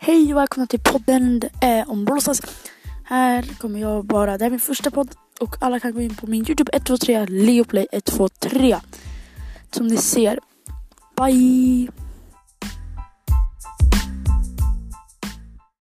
Hej och välkomna till podden om Brawl Stars. Här kommer jag bara, det är min första podd och alla kan gå in på min YouTube 123 Leoplay 123. Som ni ser. Bye!